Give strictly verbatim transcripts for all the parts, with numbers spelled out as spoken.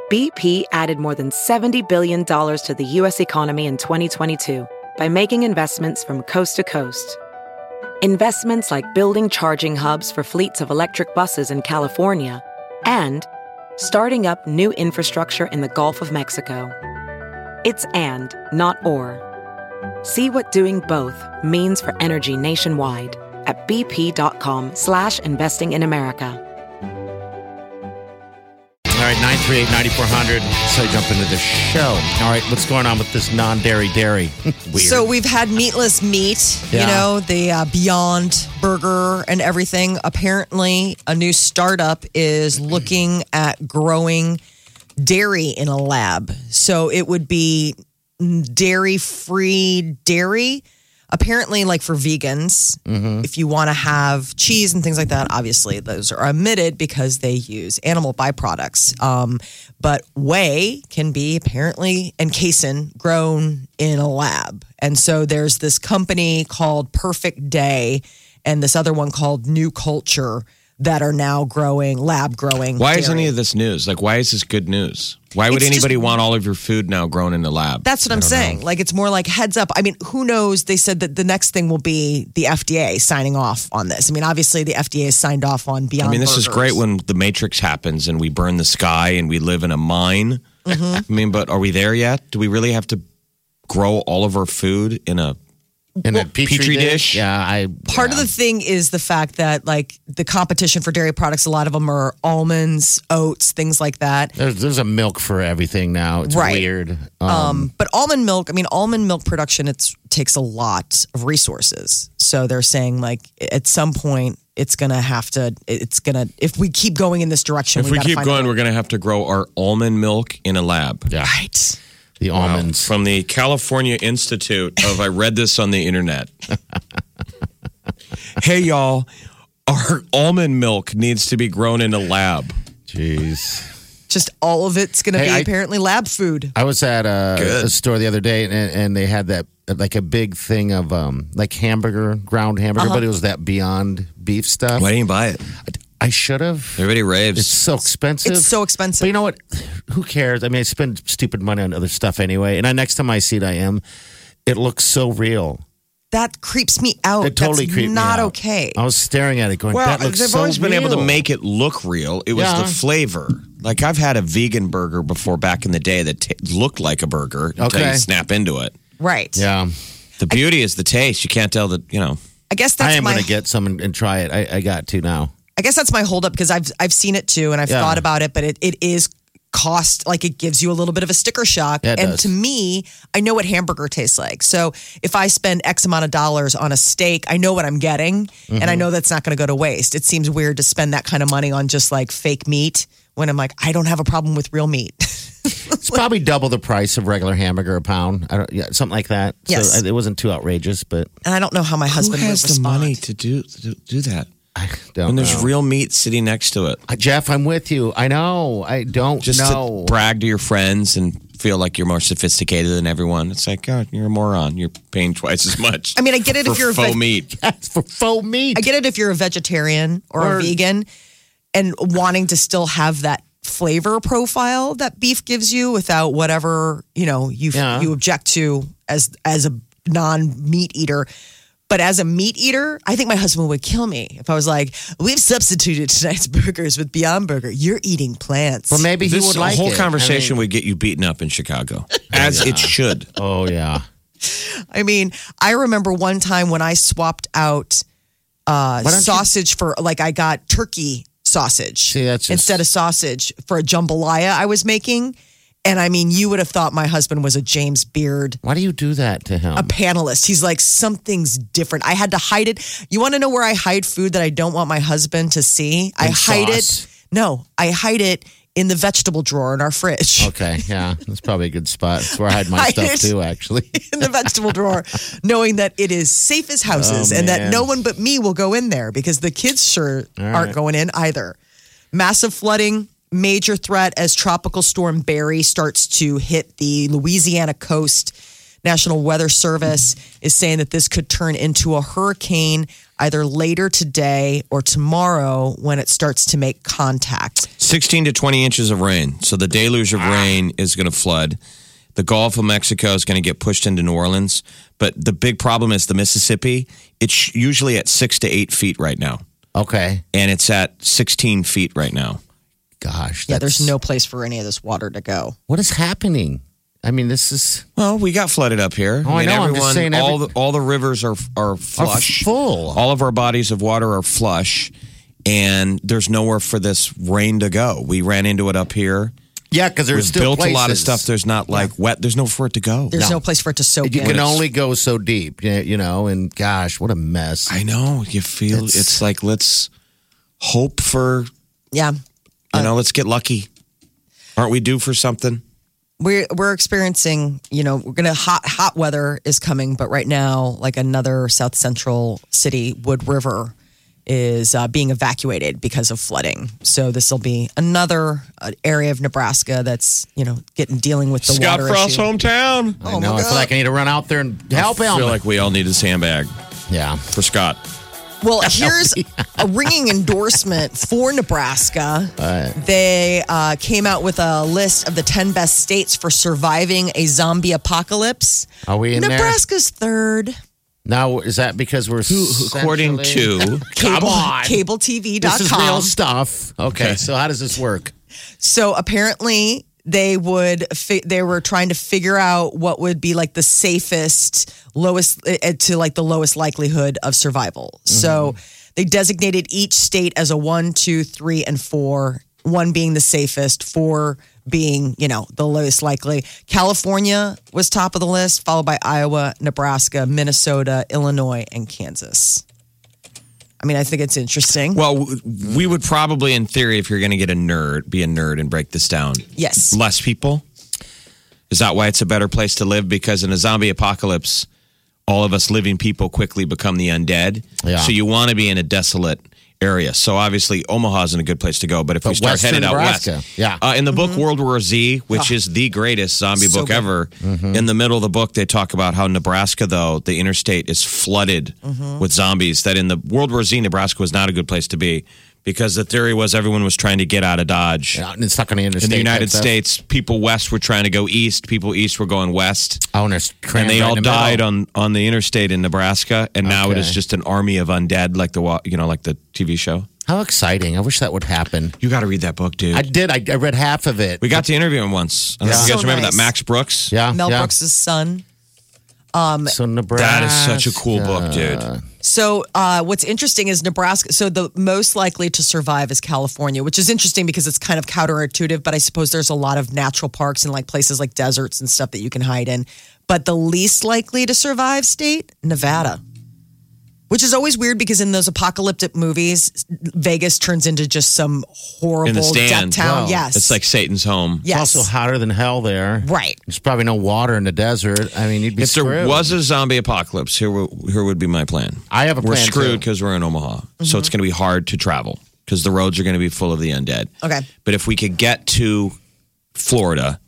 B P added more than seventy billion dollars to the U S economy in twenty twenty-two by making investments from coast to coast. Investments like building charging hubs for fleets of electric buses in California and starting up new infrastructure in the Gulf of Mexico. It's and, not or. See what doing both means for energy nationwide at bp.com slash investing in America. All right, nine three eight, nine four hundred. So I jump into the show. All right, what's going on with this non-dairy dairy? Weird. So we've had meatless meat, Yeah. you know, the uh, Beyond Burger and everything. Apparently, a new startup is looking at growing dairy in a lab. So it would be dairy-free dairy. Apparently, like for vegans, Mm-hmm. if you want to have cheese and things like that, obviously those are omitted because they use animal byproducts. Um, but whey can be apparently, and casein, grown in a lab. And so there's this company called Perfect Day and this other one called New Culture that are now growing, lab growing. Why is dairy. any of this news? Like, why is this good news? Why would It's anybody just- want all of your food now grown in the lab? That's what I'm saying. Like, it's more like heads up. I mean, who knows? They said that the next thing will be the F D A signing off on this. I mean, obviously, the F D A has signed off on Beyond I mean, this is Burgers. great when the Matrix happens and we burn the sky and we live in a mine. Mm-hmm. I mean, but are we there yet? Do we really have to grow all of our food in a in a petri, Petri dish? dish? Yeah, I. Part yeah. of the thing is the fact that, like, the competition for dairy products, a lot of them are almonds, oats, things like that. There's, there's a milk for everything now. It's Right. weird. Um, Um, but almond milk, I mean, almond milk production, it takes a lot of resources. So they're saying, like, at some point, it's going to have to, it's going to, if we keep going in this direction, If we gotta keep find going, a- we're going to have to grow our almond milk in a lab. yeah, Right. the Wow. almonds. From the California Institute of, I read this on the internet. Hey, y'all, our almond milk needs to be grown in a lab. Jeez. Just all of it's going to Hey, be I- apparently lab food. I was at a, Good. a store the other day, and, and they had that like a big thing of um like hamburger, ground hamburger, but it was that Beyond Beef stuff. Why didn't you buy it? I should have. Everybody raves. It's so expensive. It's so But expensive. you know what? Who cares? I mean, I spend stupid money on other stuff anyway. And I, next time I see it, I am. It looks so real. That creeps me out. It totally That's creeped me not out. okay. I was staring at it, going, Well, "That looks they've so always been able to real." make it look real. It was Yeah. the flavor. Like, I've had a vegan burger before back in the day that t- looked like a burger until Okay. you snap into it. Right. Yeah, The beauty is the taste. You can't tell that, you know. I guess that's I am my going to get some and, and try it. I, I got to now. I guess that's my holdup because I've I've seen it too and I've Yeah. thought about it, but it, it is cost like it gives you a little bit of a sticker shock. Yeah, it and does. to me, I know what hamburger tastes like. So if I spend X amount of dollars on a steak, I know what I'm getting and I Mm-hmm. know that's not going to go to waste. It seems weird to spend that kind of money on just like fake meat when I'm like, I don't have a problem with real meat. It's probably double the price of regular hamburger a pound. I don't, yeah, something like that. Yes. So it wasn't too outrageous, but And I don't know how my husband Who has would the respond. money to do to do that? I don't When there's know. real meat sitting next to it. Uh, Jeff, I'm with you. I know. I don't Just know. to brag to your friends and feel like you're more sophisticated than everyone. It's like, God, you're a moron. You're paying twice as much. I mean, I get it for if you're a faux veg- meat. That's for faux meat. I get it if you're a vegetarian or, Or- a vegan and wanting to still have that flavor profile that beef gives you without whatever, you know, you Yeah. you object to as as a non-meat eater. But as a meat eater, I think my husband would kill me if I was like, we've substituted tonight's burgers with Beyond Burger. You're eating plants. Well, maybe he This would like whole it. conversation I mean- would get you beaten up in Chicago, as it should. Oh yeah. I mean, I remember one time when I swapped out uh, Why don't you- sausage for, like, I got turkey sausage See, that's just- instead of sausage for a jambalaya I was making. And I mean, you would have thought my husband was a James Beard, Why do you do that to him? a panelist. He's like, something's different. I had to hide it. You want to know where I hide food that I don't want my husband to see? I In hide sauce? it. No, I hide it in the vegetable drawer in our fridge. Okay, yeah, that's probably a good spot. That's where I hide my Hide stuff it. too, actually. In the vegetable drawer, knowing that it is safe as houses Oh, and that man. no one but me will go in there because the kids sure aren't right. going in either. Massive flooding, major threat as Tropical Storm Barry starts to hit the Louisiana coast. National Weather Service is saying that this could turn into a hurricane either later today or tomorrow when it starts to make contact. sixteen to twenty inches of rain. So the deluge of rain is going to flood. The Gulf of Mexico is going to get pushed into New Orleans. But the big problem is the Mississippi. It's usually at six to eight feet right now. Okay. And it's at sixteen feet right now. Gosh. Yeah, there's that's- no place for any of this water to go. What is happening? I mean, this is Well, we got flooded up here. Oh, I know. I'm just saying all every- the all the rivers are are are flush. full. All of our bodies of water are flush, and there's nowhere for this rain to go. We ran into it up here. Yeah, because there's We've still built a lot of places. stuff. There's not like wet. There's nowhere for it to go. There's no, No. place for it to soak You in. can only go so deep, you you know, and gosh, what a mess. I know. You feel It's- it's, like let's hope for yeah. you know. Let's get lucky. Aren't we due for something? We're we're experiencing, you know, we're gonna hot hot weather is coming, but right now, like another South Central city, Wood River, is uh, being evacuated because of flooding. So this will be another uh, area of Nebraska that's, you know, getting dealing with the Scott water Frost's issue. hometown. I Oh, know. my I feel God. like I need to run out there and help I him. feel like we all need a sandbag yeah. for Scott. Well, here's a ringing endorsement for Nebraska. They uh, came out with a list of the ten best states for surviving a zombie apocalypse. Are we in there? Nebraska's third. Now, is that because we're According centrally- to Come Cable, on. Cable T V dot com. This is real stuff. Okay, Okay. so how does this work? So apparently they would fi- they were trying to figure out what would be like the safest lowest uh, to like the lowest likelihood of survival. So they designated each state as a one, two, three, and four. One being the safest, four being, you know, the lowest likely. California was top of the list, followed by Iowa, Nebraska, Minnesota, Illinois, and Kansas. I mean, I think it's interesting. Well, w- we would probably, in theory, if you're going to get a nerd, be a nerd and break this down. Yes. Less people. Is that why it's a better place to live? Because in a zombie apocalypse, all of us living people quickly become the undead. Yeah. So you want to be in a desolate area. So obviously, Omaha's in a good place to go. But if we But start Western headed out Nebraska, west, yeah. uh, in the book World War Z, which is the greatest zombie So book good. ever, in the middle of the book, they talk about how Nebraska, though, the interstate is flooded with zombies. That in the World War Z, Nebraska was not a good place to be because the theory was everyone was trying to get out of Dodge. Yeah, and it's stuck on the interstate. In the United type stuff. States, people west were trying to go east, people east were going west. Oh, and, there's And trams they right all in the died middle. on, on the interstate in Nebraska, and now it Okay. is just an army of undead, like the wa- you know, like the T V show. How exciting! I wish that would happen. You got to read that book, dude. I did. I, I read half of it. we got to interview him once. I don't know if Yeah. you guys So remember nice. that Max Brooks? yeah, Mel yeah. Brooks' son. So Nebraska. That is such a cool book, dude. So, uh, what's interesting is Nebraska. So, the most likely to survive is California, which is interesting because it's kind of counterintuitive. But I suppose there's a lot of natural parks and like places like deserts and stuff that you can hide in. But the least likely to survive state, Nevada, which is always weird because in those apocalyptic movies, Vegas turns into just some horrible In the death stand. town. Wow. Yes, It's like Satan's home. yes, It's also hotter than hell there. right. There's probably no water in the desert. I mean, you'd be If there screwed. was a zombie apocalypse, here, wo- here would be my plan. I have a We're plan, screwed too. because we're in Omaha. So it's going to be hard to travel because the roads are going to be full of the undead. Okay. But if we could get to Florida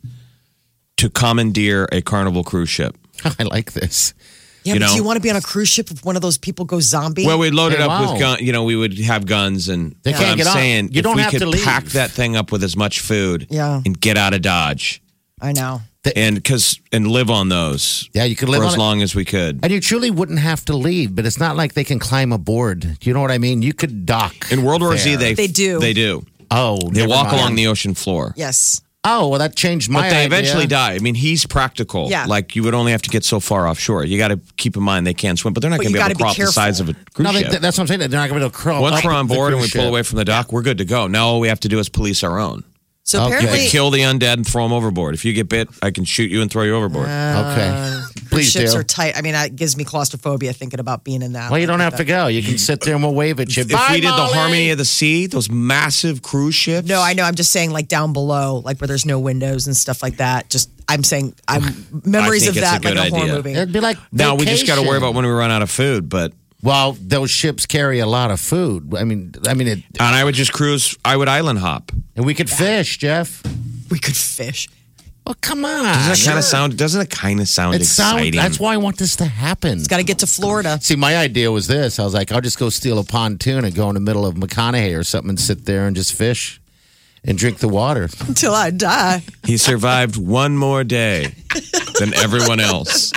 to commandeer a Carnival cruise ship. I like this. Yeah, You but know? do you want to be on a cruise ship if one of those people goes zombie? Well, we'd load it Hey, up wow. with gun. You know, we would have guns, and They but can't I'm get on. saying You if don't we have could to leave. pack that thing up with as much food, Yeah. and get out of Dodge, I know. and because and live on those, Yeah, you could live for on as it. long as we could. And you truly wouldn't have to leave, but it's not like they can climb aboard. Do you know what I mean? You could dock. In World War Z, there. they They do. They do. Oh, They never walk mind. along the ocean floor. Yes. Oh, well, that changed my But they idea. eventually die. I mean, he's practical. Yeah. Like, you would only have to get so far offshore. You got to keep in mind they can't swim, but they're not But going to you be able to gotta be crawl up the sides careful. of a cruise No, they, ship. that's what I'm saying. They're not going to be able to crawl. Once up we're on the board and we cruise pull ship. away from the dock, we're good to go. Now all we have to do is police our own. So Okay. apparently, Like, kill the undead and throw them overboard. If you get bit, I can shoot you and throw you overboard. Okay. Please ships do. are tight. I mean, that gives me claustrophobia thinking about being in that. Well, you don't Like have to go. You can sit there and we'll wave at you. if Bye, we did Molly. the Harmony of the Sea, those massive cruise ships. No, I know. I'm just saying, like down below, like where there's no windows and stuff like that. Just, I'm saying, I'm memories think of it's a that, like good a horror idea. movie. It'd be like Now we just got to worry vacation. about when we run out of food, but. Well, those ships carry a lot of food. I mean, I mean, it, And I would just cruise, I would island hop. and we could fish, Jeff. We could fish. Well, come on. Doesn't that kind of sound, doesn't it kind of sound It sounds. exciting? That's why I want this to happen. Got to get to Florida. See, my idea was this. I was like, I'll just go steal a pontoon and go in the middle of McConaughey or something and sit there and just fish. and drink the water. Until I die. He survived one more day than everyone else.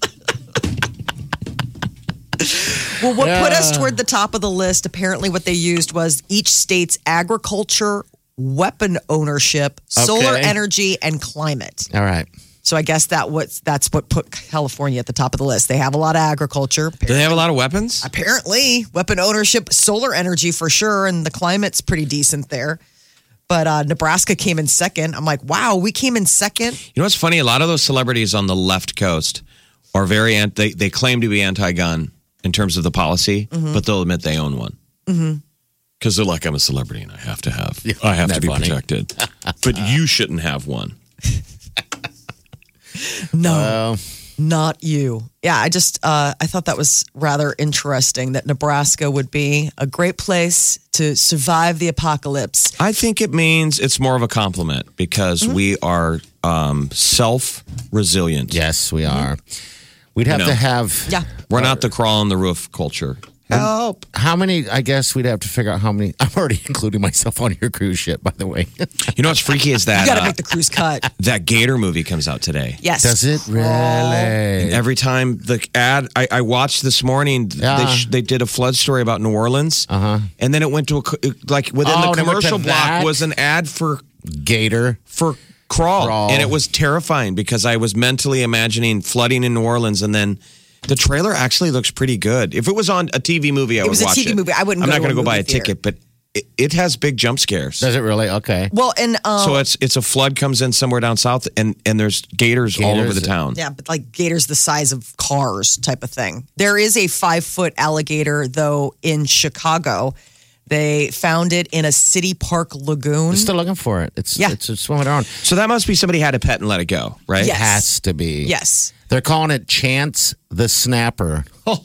Well, what put us toward the top of the list, apparently what they used was each state's agriculture, weapon ownership, solar Okay. energy, and climate. All right. So I guess that what's that's what put California at the top of the list. They have a lot of agriculture. Do they have a lot of weapons? Apparently, weapon ownership, solar energy for sure, and the climate's pretty decent there. But uh, Nebraska came in second. I'm like, wow, we came in second. You know what's funny? A lot of those celebrities on the left coast are very anti, they, they claim to be anti-gun in terms of the policy, Mm-hmm. but they'll admit they own one. Because they're like, I'm a celebrity and I have to have, I have to Isn't be that funny? protected. But you shouldn't have one. No, Uh, not you. Yeah, I just uh, I thought that was rather interesting that Nebraska would be a great place to survive the apocalypse. I think it means it's more of a compliment because Mm-hmm. we are um, self-resilient. yes, we are. We'd have know. to have. Yeah. We're not the crawl on the roof culture. Help. How many? I guess we'd have to figure out how many. I'm already including myself on your cruise ship, by the way. You know what's freaky is that You got to uh, make the cruise cut. that Gator movie comes out today. Yes. Does it really? Every time the ad, I, I watched this morning, Yeah. they, sh- they did a flood story about New Orleans. Uh-huh. And then it went to a, co- like within Oh, the they went to commercial block that? was an ad for, Gator. for crawl. Crawl. And it was terrifying because I was mentally imagining flooding in New Orleans and then the trailer actually looks pretty good. If it was on a T V movie, I It would was a watch T V it. movie. I wouldn't I'm go not to going to a go buy a movie theater. ticket, but it, it has big jump scares. Does it really? Okay. Well, and um, So it's it's a flood comes in somewhere down south, and, and there's gators, all over Gators. the town. yeah, but like gators the size of cars type of thing. There is a five foot alligator though in Chicago. They found it in a city park lagoon. We're still looking for it. It's Yeah. it's just swimming around. So that must be somebody had a pet and let it go, right? Yes. Has to be. Yes. They're calling it Chance the Snapper.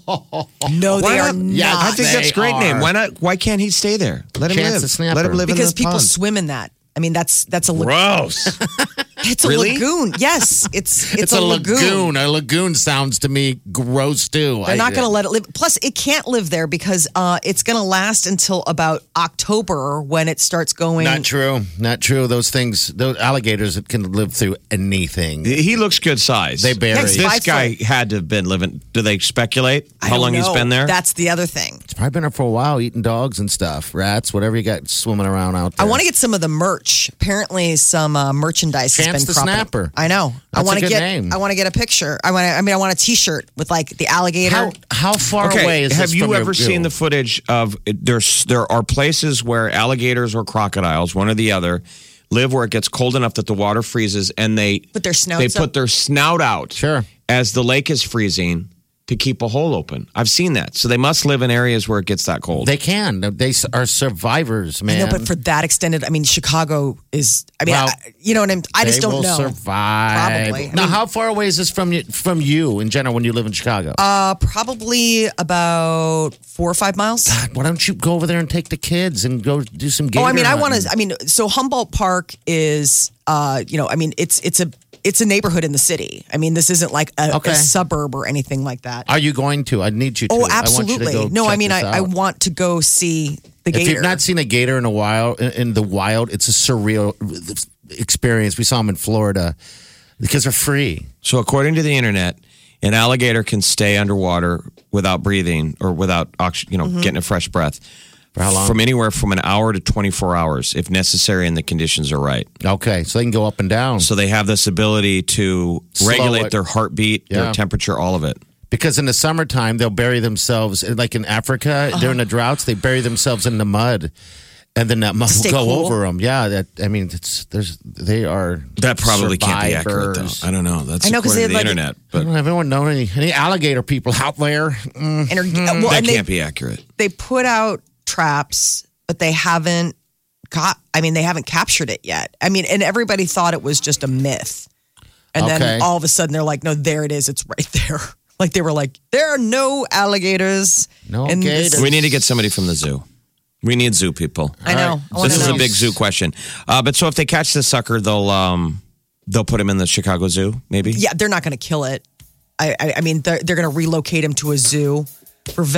No, Why they are not? not. Yeah, I think that's a They great are. name. Why not? Why can't he stay there? Let him Chance live. the Snapper. Let him live because in the people pond. swim in that. I mean, that's that's a lagoon. Gross. It's a Really? lagoon. Yes, it's it's, It's, a, lagoon. A lagoon sounds to me gross too. They're not going to let it live. Plus, it can't live there because uh, it's going to last until about October when it starts going. Not true. Not true. Those things, those alligators that can live through anything. He looks good size. They bury. Yes, This five guy foot. had to have been living. Do they speculate I how don't long he's know. been there? That's the other thing. It's probably been there for a while, eating dogs and stuff, rats, whatever you got swimming around out I there. want to get some of the merch. Apparently, some uh, merchandise has Chance been the cropping up. Snapper. I know. I That's want a to good get. name. I want to get a picture. I want. I mean, I want a T-shirt with like the alligator. How how far okay. away is have this you from your ever view? seen the footage of there's there are places where alligators or crocodiles, one or the other, live where it gets cold enough that the water freezes and they Put their snouts they up? put their snout out Sure. as the lake is freezing to keep a hole open. I've seen that. So they must live in areas where it gets that cold. They can. They are survivors, I man. know, but for that extended, I mean, Chicago is. I mean, Well, I, you know what I'm. I just they don't will know. survive. Probably. I Now, mean- how far away is this from you, from you in general when you live in Chicago? Uh, probably about four or five miles. Why don't you go over there and take the kids and go do some gator Oh, I mean, I want hunting? to. I mean, so Humboldt Park is, uh, you know, I mean, it's it's a it's a neighborhood in the city. I mean, this isn't like a, Okay. a suburb or anything like that. Are you going to? I need you to. Oh, I want you to absolutely. go No, check I mean, I, this I out. want to go see the If gator. you've not seen a gator in a while, in, in the wild, it's a surreal experience. We saw them in Florida because they're free. So according to the internet, an alligator can stay underwater without breathing or without oxy- you know Mm-hmm. getting a fresh breath For how long? from anywhere from an hour to twenty-four hours if necessary and the conditions are right. Okay, so they can go up and down. So they have this ability to Slow regulate it. their heartbeat, Yeah. their temperature, all of it. Because in the summertime, they'll bury themselves, like in Africa, Uh-huh. during the droughts, they bury themselves in the mud. And then that mud will Stay go cool. over them. Yeah, that I mean, it's there's they are That probably can't be accurate, survivors. though. I don't know. That's I know, 'cause according to they the had, like, internet, but But everyone know any any alligator people out there? Mm. and, are, well, that and they, can't be accurate. they put out traps, but they haven't got. I mean, they haven't captured it yet. I mean, and everybody thought it was just a myth, and Okay. then all of a sudden they're like, "No, there it is. It's right there." Like they were like, "There are no alligators." No in this- gators. We need to get somebody from the zoo. We need zoo people. I know. I wanna This is know. a big zoo question. Uh, but so if they catch this sucker, they'll um, they'll put him in the Chicago Zoo, maybe? Yeah, they're not going to kill it. I, I, I mean, they're, they're going to relocate him to a zoo for vet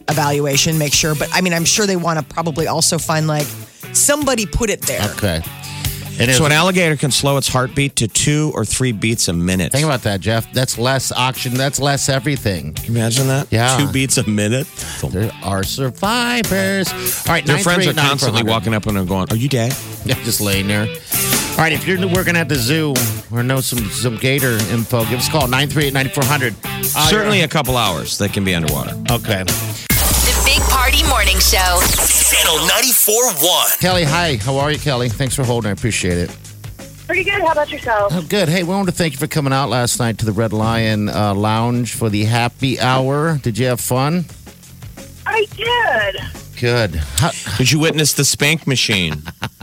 evaluation, make sure. But I mean, I'm sure they want to probably also find like somebody put it there. Okay. And So an alligator can slow its heartbeat to two or three beats a minute. think about that, Jeff. That's less oxygen. That's less everything. Can you imagine that? Yeah. Two beats a minute. There are survivors. All right, Their friends are nine three eight nine constantly four hundred. walking up and going, "Are you dead?" Yeah, just laying there. All right, if you're working at the zoo or know some some gator info, give us a call, nine three eight, nine four hundred. Uh, Certainly a couple hours they can be underwater. Okay. The Big Party Morning Show. Channel ninety-four point one. Kelly, hi. How are you, Kelly? Thanks for holding. I appreciate it. Pretty good. How about yourself? Oh, good. Hey, we wanted to thank you for coming out last night to the Red Lion uh, Lounge for the happy hour. Did you have fun? I did. Good. How, Did you witness the spank machine?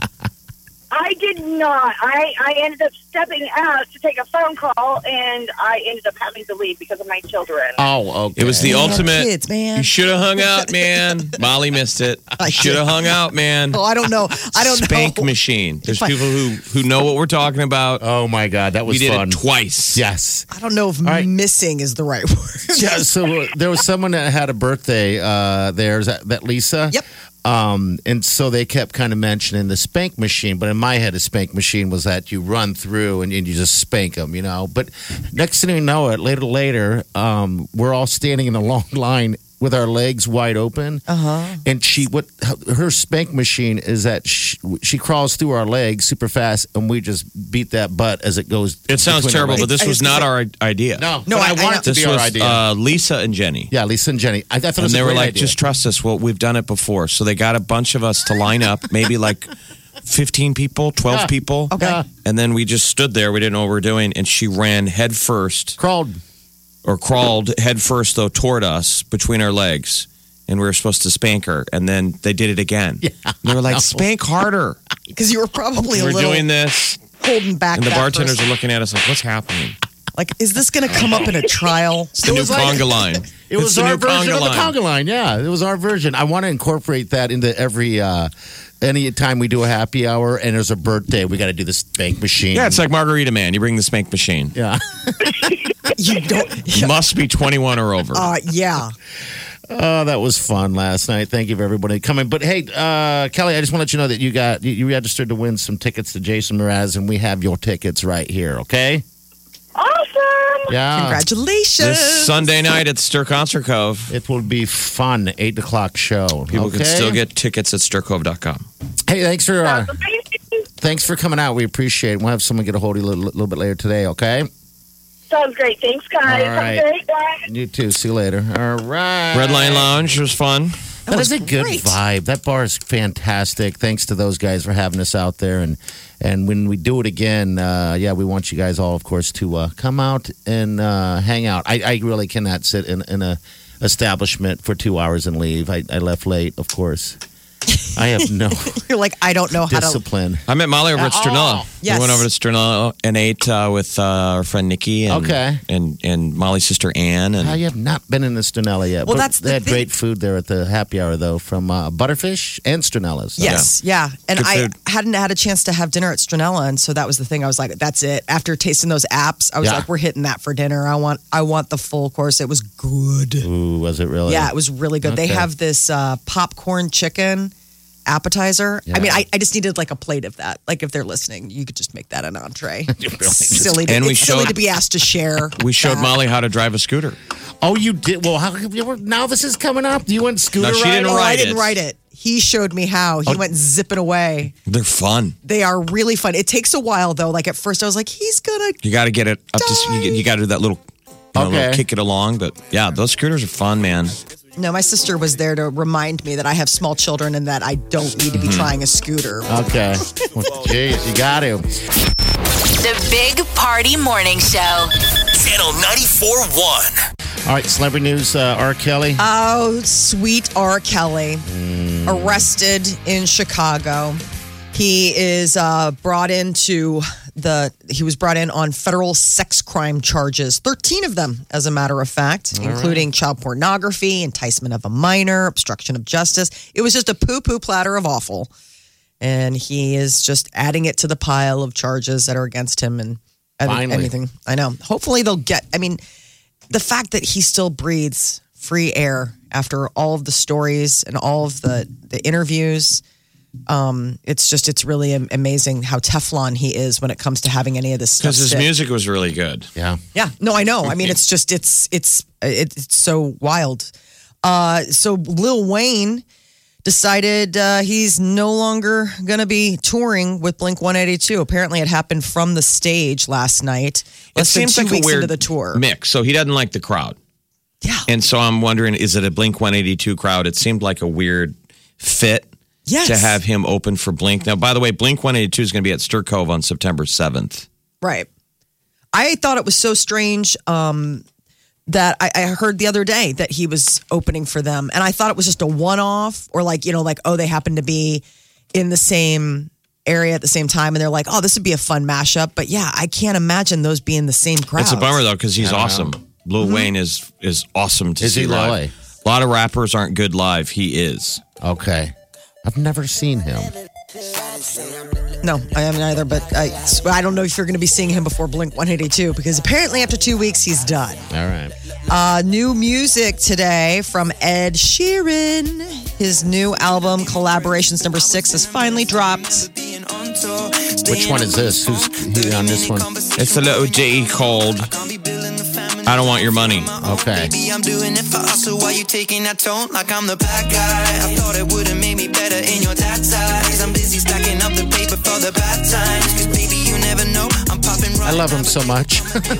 I did not. I, I ended up stepping out to take a phone call, and I ended up having to leave because of my children. oh, okay. It was the ultimate. kids, man. You should have hung out, man. Molly missed it. I Should have hung out, man. Oh, I don't know. I don't Spank know. machine. There's If I- people who who know what we're talking about. Oh, my God. That was we did fun. it twice. Yes. I don't know if right. missing is the right word. Yeah, so uh, there was someone that had a birthday uh, there. Is that, that Lisa? Yep. Um, and so they kept kind of mentioning the spank machine, but in my head, a spank machine was that you run through and, and you just spank them, you know. But next thing you know, it later later, um, we're all standing in a long line with our legs wide open. Uh-huh. And she, what her spank machine is that she, she crawls through our legs super fast, and we just beat that butt as it goes. It sounds between our terrible, but legs. this was not our idea. no, No, but I- I, I want know. it to This be our was idea. uh, Lisa and Jenny. yeah, Lisa and Jenny. I, I thought it And was they a were great like, idea. just trust us. Well, we've done it before. So they got a bunch of us to line up, maybe like fifteen people, twelve Yeah. people. Okay. Yeah. And then we just stood there. We didn't know what we were doing. And she ran head first, crawled. or crawled head first, though, toward us between our legs. And we were supposed to spank her. And then they did it again. Yeah, and they were like, spank harder. Because you were probably a We're little doing this. holding back. And the that bartenders first- are looking at us like, what's happening? like, is this going to come up in a trial? It's the new was like- conga line. It It's was the our new version of the line. conga line. Yeah, it was our version. I want to incorporate that into every uh, any time we do a happy hour and there's a birthday. We got to do the spank machine. Yeah, it's like Margarita Man. You bring the spank machine. yeah. You don't. You must be twenty-one or over. Uh, yeah. Oh, that was fun last night. Thank you for everybody coming. But hey, uh, Kelly, I just want to let you know that you got you, you registered to win some tickets to Jason Mraz, and we have your tickets right here. Okay? Awesome. Yeah. Congratulations. This Sunday night at Stir Concert Cove. It will be fun. Eight o'clock show. People okay? can still get tickets at stir cove dot com. Hey, thanks for uh, That's amazing. thanks for coming out. We appreciate it. We'll have someone get a hold of you a little, little bit later today. Okay? Sounds great. Thanks, guys. All right. Have a great day. You too. See you later. All right. Red Lion Lounge was fun. That is was a good great. vibe. That bar is fantastic. Thanks to those guys for having us out there. And and when we do it again, uh, yeah, we want you guys all, of course, to uh, come out and uh, hang out. I, I really cannot sit in, in a establishment for two hours and leave. I, I left late, of course. I have no You're like, I don't know how to. discipline. I met Molly over at Oh, Sternella. yes. We went over to Sternella and ate uh, with uh, our friend Nikki and, Okay. and and Molly's sister Ann. And I have not been in the Sternella yet. Well, but that's the they had thing. great food there at the happy hour, though, from uh, Butterfish and Sternella's. So- Yes, yeah. And Good I food. hadn't had a chance to have dinner at Stronella, and so that was the thing. I was like, that's it. After tasting those apps, I was Yeah. like, we're hitting that for dinner. I want I want the full course. It was good. Ooh, was it really? Yeah, it was really good. They Okay. have this uh, popcorn chicken appetizer. Yeah. I mean, I, I just needed like a plate of that. Like if they're listening, you could just make that an entree. Really? silly to, And we it's silly showed- to be asked to share. we showed that. Molly how to drive a scooter. Oh, you did? Well, how come you were, now this is coming up? You went scooter No, she riding? didn't Oh, I Write didn't it. write it. He showed me how. He Oh. went zipping away. They're fun. They are really fun. It takes a while though. Like at first, I was like, he's gonna. You got to get it up to. You, you got to do that little. You know, Okay. little kick it along, but yeah, those scooters are fun, man. No, my sister was there to remind me that I have small children and that I don't need to be trying a scooter. Okay. Well, Jeez, you got to. The Big Party Morning Show. Channel ninety-four point one. All right, celebrity news. Uh, R. Kelly. Oh, sweet R. Kelly, arrested in Chicago. He is uh, brought into the. He was brought in on federal sex crime charges, thirteen of them, as a matter of fact, including child pornography, enticement of a minor, obstruction of justice. It was just a poo-poo platter of awful, and he is just adding it to the pile of charges that are against him and Finally. anything. I know. Hopefully, they'll get. I mean, the fact that he still breathes free air after all of the stories and all of the, the interviews. Um, it's just, it's really am- amazing how Teflon he is when it comes to having any of this stuff. Because his sit. music was really good. Yeah. Yeah, no, I know. I mean, it's just, it's, it's, it's so wild. Uh, so Lil Wayne decided uh, he's no longer going to be touring with Blink one eighty-two. Apparently, it happened from the stage last night. It Less than seems two like a weeks weird into the tour. mix. So he doesn't like the crowd. Yeah. And so I'm wondering, is it a Blink one eighty-two crowd? It seemed like a weird fit Yes. to have him open for Blink. Now, by the way, Blink one eighty-two is going to be at Stir Cove on September seventh. Right. I thought it was so strange um, that I, I heard the other day that he was opening for them. And I thought it was just a one-off or like, you know, like, oh, they happen to be in the same area at the same time. And they're like, oh, this would be a fun mashup. But yeah, I can't imagine those being the same crowd. It's a bummer, though, because he's I don't awesome. know. Lil Mm-hmm. Wayne is is awesome to Is see he live. really? A lot of rappers aren't good live. He is. Okay. I've never seen him. No, I haven't either. But I, I don't know if you're going to be seeing him before Blink one eighty-two because apparently after two weeks, he's done. All right. Uh, new music today from Ed Sheeran. His new album, Collaborations Number Six, has finally dropped. Which one is this? Who's he on this one? It's a little ditty called I Don't Want Your Money. Okay. Baby, I'm doing it for us, so why you taking that tone like I'm the bad guy? I thought it would've made me better in your dad's eyes. I'm busy stacking up the paper for the bad times. Cause baby, you never know, I'm popping right. I love him so much.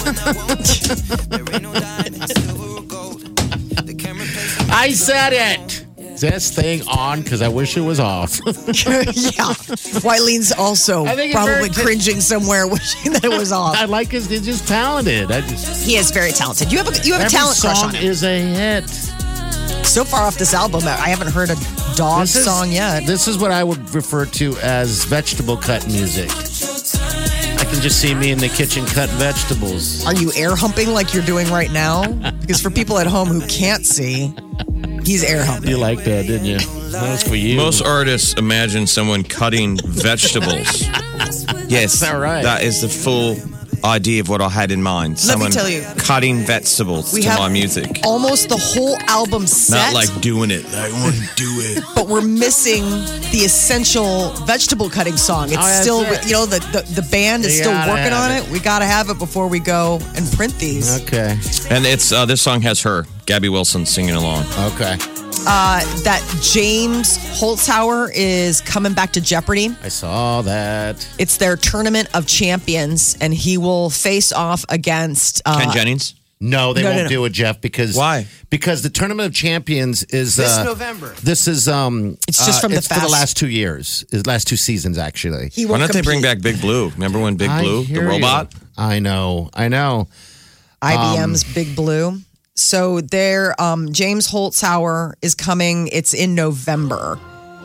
I said it. Is this thing on? Because I wish it was off. Yeah. Wylene's also I think it's probably very- cringing somewhere wishing that it was off. I like his. He's just talented. I just, He is very talented. You have a, you have a every talent crush song on him. is a hit. So far off this album, I haven't heard a dog This is- song yet. This is what I would refer to as vegetable cut music. I can just see me in the kitchen cutting vegetables. Are you air humping like you're doing right now? Because for people at home who can't see, he's air humping. You like that, didn't you? That was for you. Most artists imagine someone cutting vegetables. Yes, all right. That is the full idea of what I had in mind. Let me Someone tell you. cutting vegetables We to have my music. almost the whole album set, Not like doing it. I want to do it. but we're missing the essential vegetable cutting song. It's Oh, that's still, it. you know, the, the, the band is You still gotta working have on it. it. We got to have it before we go and print these. Okay. And it's uh, this song has her, Gabby Wilson, singing along. Okay. Uh, that James Holzhauer is coming back to Jeopardy. I saw that. It's their tournament of champions, and he will face off against uh, Ken Jennings. No, they No, no, won't no. do it, Jeff. Because Why? Because the Tournament of Champions is This uh, November. This is um. It's just uh, from the it's for the fast- last two years. Is last two seasons actually. He Why will don't they bring compete. back Big Blue? Remember when Big I Blue, the hear you. robot? I know. I know. I B M's Um, Big Blue. So there, um, James Holzhauer is coming. It's in November,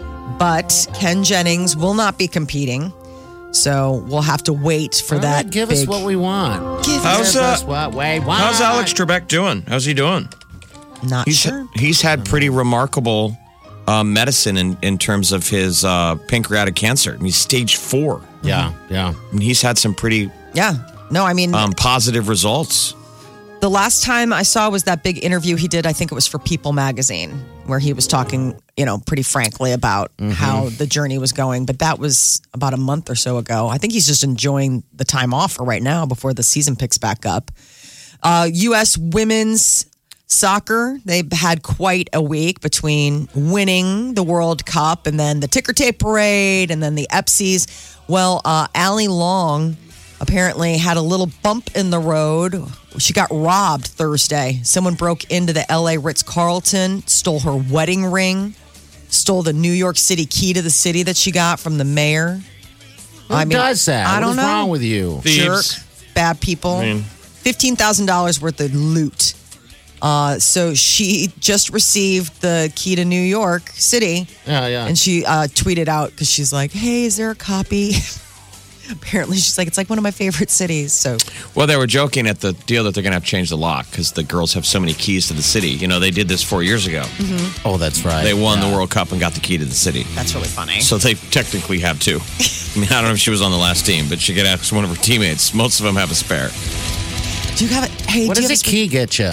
but Ken Jennings will not be competing. So we'll have to wait for All that. right, give big, us what we want. Give How's, Give uh, us what we want. How's Alex Trebek doing? How's he doing? Not He's sure. he's had pretty remarkable uh, medicine in, in terms of his uh, pancreatic cancer. I mean, he's stage four. Yeah, yeah. I mean, he's had some pretty Yeah. No, I mean, um, positive results. the last time I saw was that big interview he did. I think it was for People magazine, where he was talking, you know, pretty frankly about how the journey was going. But that was about a month or so ago. I think he's just enjoying the time off for right now before the season picks back up. Uh, U S women's soccer, they've had quite a week between winning the World Cup and then the ticker tape parade and then the Epsies. Well, uh, Allie Long apparently had a little bump in the road. She got robbed Thursday. Someone broke into the L A Ritz-Carlton, stole her wedding ring, stole the New York City key to the city that she got from the mayor. Who does that? I What don't is know. wrong with you? Jerk, Thieves. bad people. I mean- fifteen thousand dollars worth of loot. Uh, so she just received the key to New York City. Yeah, yeah. And she uh, tweeted out because she's like, hey, is there a copy? Apparently, she's like, it's like one of my favorite cities. So Well, they were joking at the deal that they're going to have to change the lock because the girls have so many keys to the city. You know, they did this four years ago. Oh, that's right. They won Yeah. the World Cup and got the key to the city. that's really funny. So they technically have two. I mean, I don't know if she was on the last team, but she could ask one of her teammates. Most of them have a spare. Do you have it? Hey, What do you does have a key get you?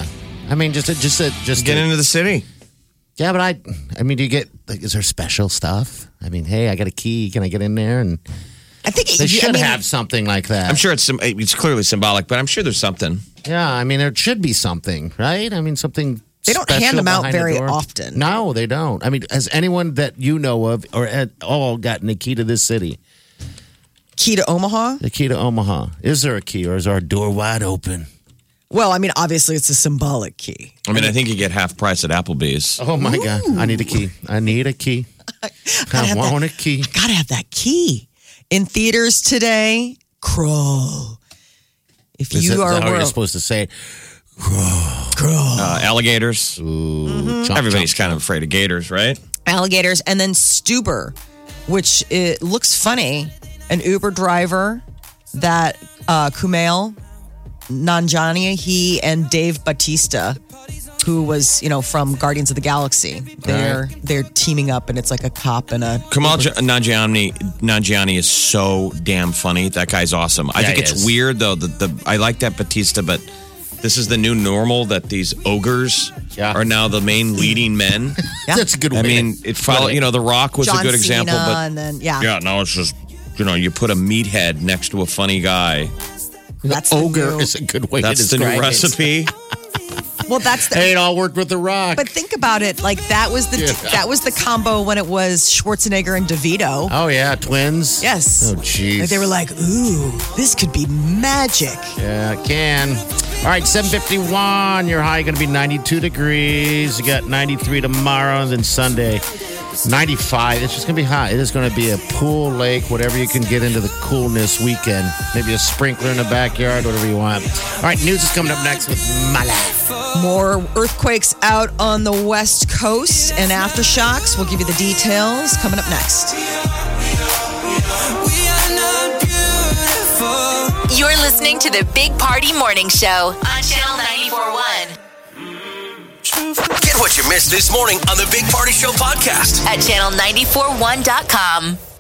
I mean, just a, just a, just Get a- into the city. Yeah, but I, I mean, do you get? Like, is there special stuff? I mean, hey, I got a key. Can I get in there? And I think they you- should I mean, have something like that. I'm sure it's sym- it's clearly symbolic, but I'm sure there's something. Yeah, I mean, there should be something, right? I mean, something. They don't special hand them out behind the very door. often. No, they don't. I mean, has anyone that you know of or at all gotten a key to this city? key to Omaha. The key to Omaha. Is there a key, or is our door wide open? Well, I mean, obviously, it's a symbolic key. I mean, I think you get half price at Applebee's. Oh my God! I need a key. I need a key. I have want that- a key. Gotta have that key. In theaters today, Crawl. If Is you that are how you're world, supposed to say it? Uh, alligators. Chomp, Everybody's chomp, kind of afraid of gators, right? alligators, and then Stuber, which it looks funny. An Uber driver that uh, Kumail Nanjiani, he and Dave Bautista, who was you know from Guardians of the Galaxy, they're Right. they're teaming up, and it's like a cop and a Kamal J- Nanjiani, Nanjiani is so damn funny. That guy's awesome. I Yeah, think he it's is. weird though. The, the I like that Batista, but this is the new normal that these ogres Yeah. are now the main leading men. That's a good way. I mean, to- it follow. You know, The Rock was John a good example, Cena, but and then yeah, yeah, now it's just you know you put a meathead next to a funny guy. that's the ogre new- is a good way That's to the describe new it. recipe. well, that's the, Hey, it all worked with the Rock. But think about it, like that was the Yeah. that was the combo when it was Schwarzenegger and DeVito. oh yeah, twins. Yes. Oh jeez. Like they were like, "Ooh, this could be magic." Yeah, it can. All right, seven fifty-one. Your high going to be ninety-two degrees. You got ninety-three tomorrow, and then Sunday, ninety-five. It's just going to be hot. It is going to be a pool, lake, whatever you can get into the coolness weekend. Maybe a sprinkler in the backyard, whatever you want. All right, news is coming up next with Mala. More earthquakes out on the West Coast and aftershocks. We'll give you the details coming up next. You're listening to the Big Party Morning Show on Channel ninety-four point one. Get what you missed this morning on the Big Party Show podcast. At channel nine four one dot com.